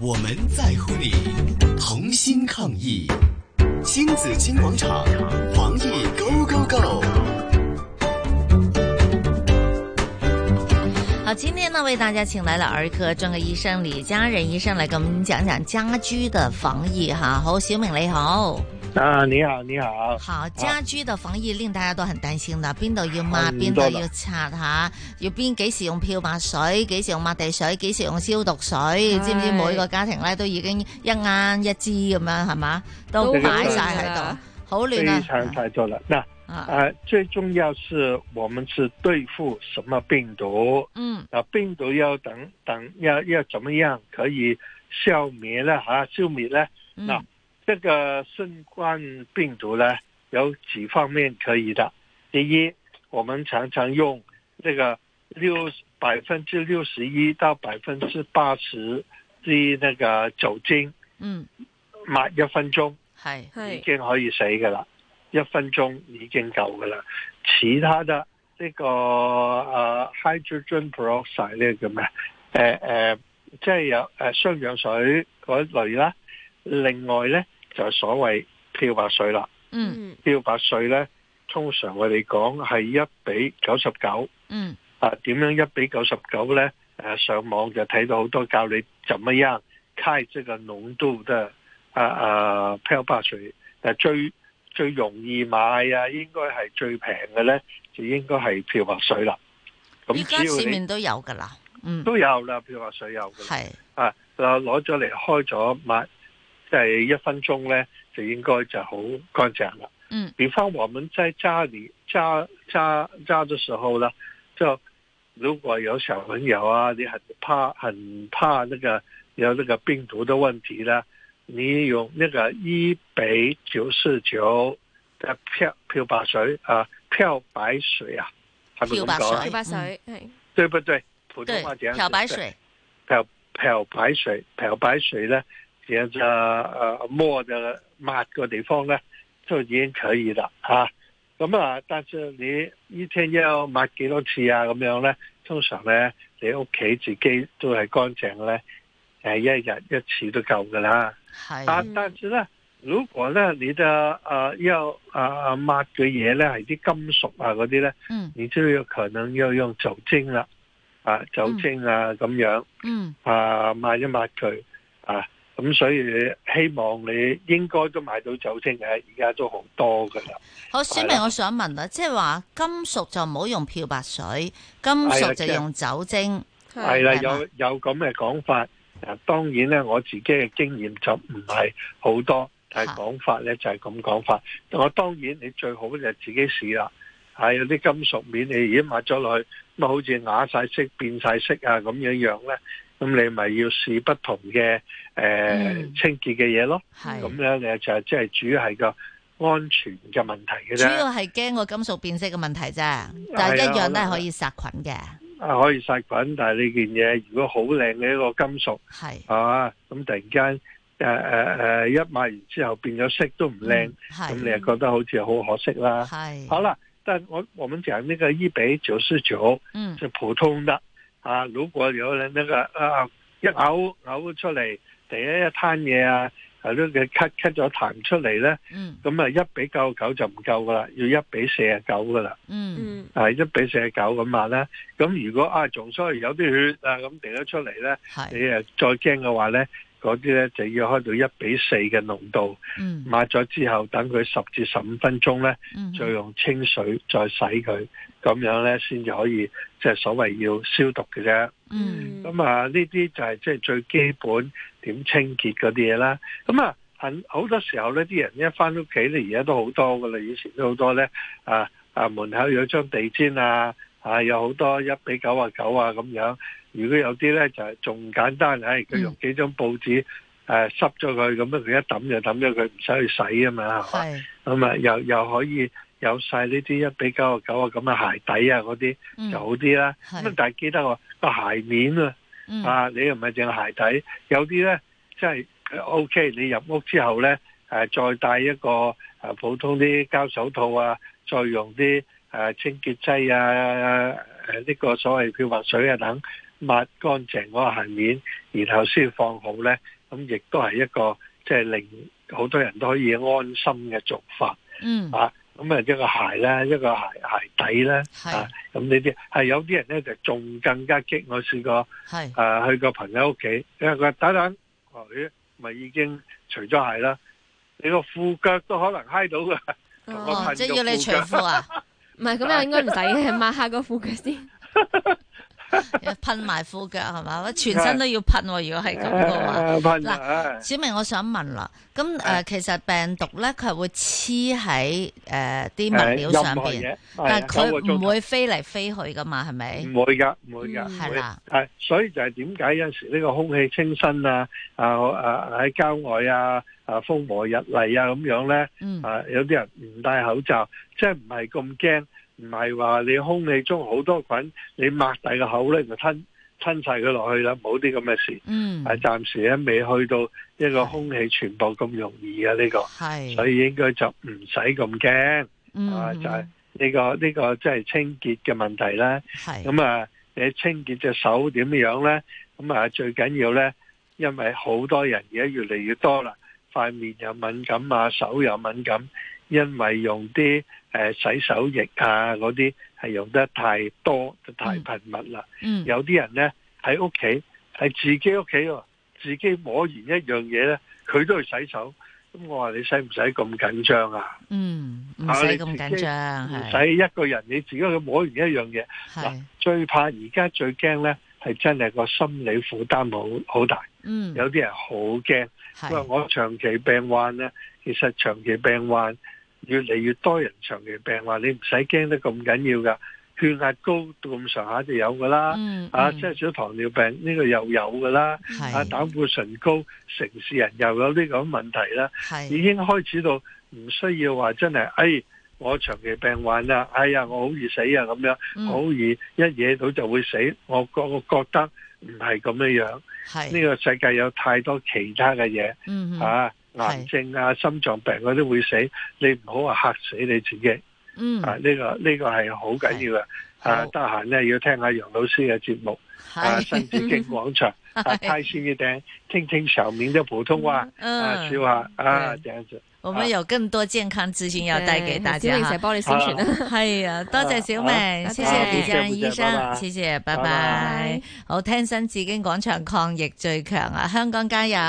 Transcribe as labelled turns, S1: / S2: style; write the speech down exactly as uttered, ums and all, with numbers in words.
S1: 我們在乎你，同心抗疫。新紫荊廣場，防疫 Go Go Go！
S2: 好，今天呢為大家請來了兒科專科醫生李家仁醫生來跟我們講講家居的防疫哈。好，小明你好。
S3: 啊，你好，你好。
S2: 好，家居的防疫令大家都很擔心啦，邊度要抹，邊度要擦下，要邊幾時用漂白水，幾時用抹地水，幾時用消毒水，知唔知每個家庭咧都已經一啱一支咁樣係嘛，都擺晒喺度，好亂啊。
S3: 非常太多了。那啊、呃，最重要是我們是對付什麼病毒？嗯，啊，病毒要等等要要怎麼樣可以消滅呢？吓、啊，消滅呢？那、嗯這個新冠病毒呢，有幾方面可以的。第一，我們常常用這個六百分之六十一到百分之八十的那個酒精，嗯，抹一分鐘，係已經可以死噶啦，一分鐘已經夠噶啦。其他的呢個呃 hydrogen peroxide 呢個咩？誒誒，即係有誒雙氧水嗰類啦。另外呢，就係所謂漂白水啦。嗯，漂白水呢，通常我哋講係一比九十九。嗯，啊，點樣一比九十九呢？誒，上網就睇到好多教你怎麼樣開這個濃度的啊啊漂白水。誒，最最容易買啊，應該係最平嘅呢，就應該係漂白水啦。咁
S2: 依家市面都有噶啦，嗯，
S3: 都有啦，漂白水有嘅。係啊，攞咗嚟開咗抹。即係一分鐘呢，就應該就好乾淨了。嗯，比方我們在家裏家家家的時候呢，就如果有小朋友啊，你很怕很怕那個有那個病毒的問題呢，你用那個一比九十九的漂漂白水啊，漂白水啊，係咪咁講？
S2: 漂白水，嗯，
S3: 對不對？普通話講，
S2: 漂白水，
S3: 漂漂白水，漂白水呢。其實就誒摸的抹個地方呢，就已經可以啦吓。咁啊，但是你一天要抹幾多次啊？咁樣呢，通常呢，你屋企自己都係乾淨嘅呢，誒一日一次都夠噶啦。係。啊，但是呢，如果呢你的誒、呃、要誒抹嘅嘢呢係啲金屬啊嗰啲呢，嗯，你就有可能要用酒精啦，啊酒精啊咁、嗯、樣，嗯，啊抹一抹佢啊。咁所以希望你應該都買到酒精嘅，而家都好多噶啦。
S2: 好，小明，我想問啦，即係話金屬就唔好用漂白水，金屬就用酒精。
S3: 係啦，有有咁嘅講法。啊，當然咧，我自己嘅經驗就唔係好多，但係講法咧就係咁講法。我當然你最好就自己試啦。係有啲金屬面，你已經抹咗落去，咁啊好似啞晒色、變晒色啊咁樣樣咧。咁你咪要試不同嘅誒、呃嗯、清潔嘅嘢咯，咁樣你就係即係主要係個安全嘅問題嘅啫。
S2: 主要係驚個金屬變色嘅問題啫，但係一樣都係可以殺菌嘅。
S3: 啊，可以殺菌，但係呢件嘢如果好靚嘅一個金屬，係係嘛，咁突然間誒誒誒一抹完之後變咗色都唔靚，咁、嗯、你又覺得好似好可惜啦。係好啦，但係我我們講呢個一比九十九，嗯，就普通的。啊！如果有人那個啊一嘔嘔出嚟，第一一攤嘢啊，係都嘅咳咳咗痰出嚟咧，咁啊一比九十九就唔夠噶啦，要一比四十九噶啦。嗯，係一比四十九咁話咧。咁如果啊仲所以有啲血啊咁滴咗出嚟咧，你誒再驚嘅話咧，嗰啲咧就要開到一比四嘅濃度。嗯，抹咗之後，等佢十至十五分鐘咧，再用清水再洗佢。咁樣咧，先至可以即係所謂要消毒嘅啫。嗯，咁啊，呢啲就係即係最基本點清潔嗰啲嘢啦。咁啊，很好多時候咧，啲人一翻屋企咧，而家都好多噶啦，以前都好多咧。啊啊，門口有張地氈啊，啊有好多一比九啊九啊咁樣。如果有啲咧就係仲簡單，唉，佢用幾張報紙誒濕咗佢，咁樣佢一抌就抌咗佢，唔使去洗啊嘛，係嘛？咁啊，又又可以。有晒呢啲一比九啊九啊咁嘅鞋底啊嗰啲、嗯、就好啲啦。咁但係記得個鞋面啊，嗯、啊你又唔係淨係鞋底，有啲咧即係 O K。你入屋之後咧，誒、啊、再戴一個誒、啊、普通啲膠手套啊，再用啲誒、啊、清潔劑啊，誒、啊、呢、這個所謂漂白水啊等抹乾淨嗰個鞋面，然後先放好咧，咁亦都係一個即係令好多人都可以安心嘅做法。
S2: 嗯
S3: 啊，咁啊一個鞋咧，一個鞋鞋底咧，啊，咁呢啲係有啲人咧就仲更加激。我試過係啊去個朋友屋企，因為佢話等等，佢咪已經除咗鞋啦，你個褲腳都可能揩到噶。
S2: 哦，即係要你除褲啊？
S4: 唔係，咁又應該唔使嘅，抹下個褲腳先。
S2: 噴埋褲腳係嘛？全身都要噴。如果係咁嘅話，嗱，小明我想問啦，咁誒、呃，其實病毒咧，佢係會黐喺誒啲物料上邊，但係佢唔會飛嚟飛去噶嘛？係咪？唔
S3: 會噶，唔會噶，係啦。係，所以就係點解有陣時呢個空氣清新啊，啊啊喺郊外啊，啊風和日麗啊咁樣咧，嗯、啊有啲人唔戴口罩，即係唔係咁驚。唔係話你空氣中好多菌，你擘大個口咧就吞吞晒佢落去啦，冇啲咁嘅事。嗯，係暫時咧未去到一個空氣傳播咁容易嘅呢個，係，所以應該就唔使咁驚。嗯，啊就係呢個呢個即係清潔嘅問題啦。係，咁啊你清潔隻手點樣咧？咁啊最緊要咧，因為好多人而家越嚟越多啦，塊面又敏感啊，手又敏感，因為用啲。誒，洗手液啊，嗰啲係用得太多，太頻密啦。嗯，有啲人咧喺屋企，係自己屋企，自己摸完一樣嘢咧，佢都去洗手。咁我話你使唔使咁緊張啊？嗯，唔使咁緊張，唔使一個人你自己去摸完一樣嘢。係最怕而家最驚咧，係真係個心理負擔好好大。嗯，有啲人好驚，因為我長期病患咧，其實長期病患。越嚟越多人長期病患，你唔使驚得咁緊要噶，血壓高到咁上下就有噶啦，嗯嗯、啊，即係少糖尿病呢、這個又有噶啦，啊，膽固醇高，城市人又有呢個問題啦，已經開始到唔需要話真係，哎，我長期病患啦，哎呀，我好易死啊咁樣，嗯、我好易一惹到就會死，我覺我覺得唔係咁樣樣，呢個世界有太多其他嘅嘢，嗯、啊。癌症啊、心臟病嗰啲會死，你唔好話嚇死你自己。嗯，啊呢、這個呢、這個係好緊要嘅。啊，得閒咧要聽下楊老師嘅節目。啊，新紫荊廣場，啊，開心一點，聽聽小明的普通話，嗯、啊，笑下啊，這樣子。
S2: 我們有更多健康資訊要帶給大家。小明成日幫你宣傳啦。係啊，多謝小明，謝謝李家仁醫生，謝謝，拜拜。好，聽新紫荊廣場抗疫最強啊，香港加油！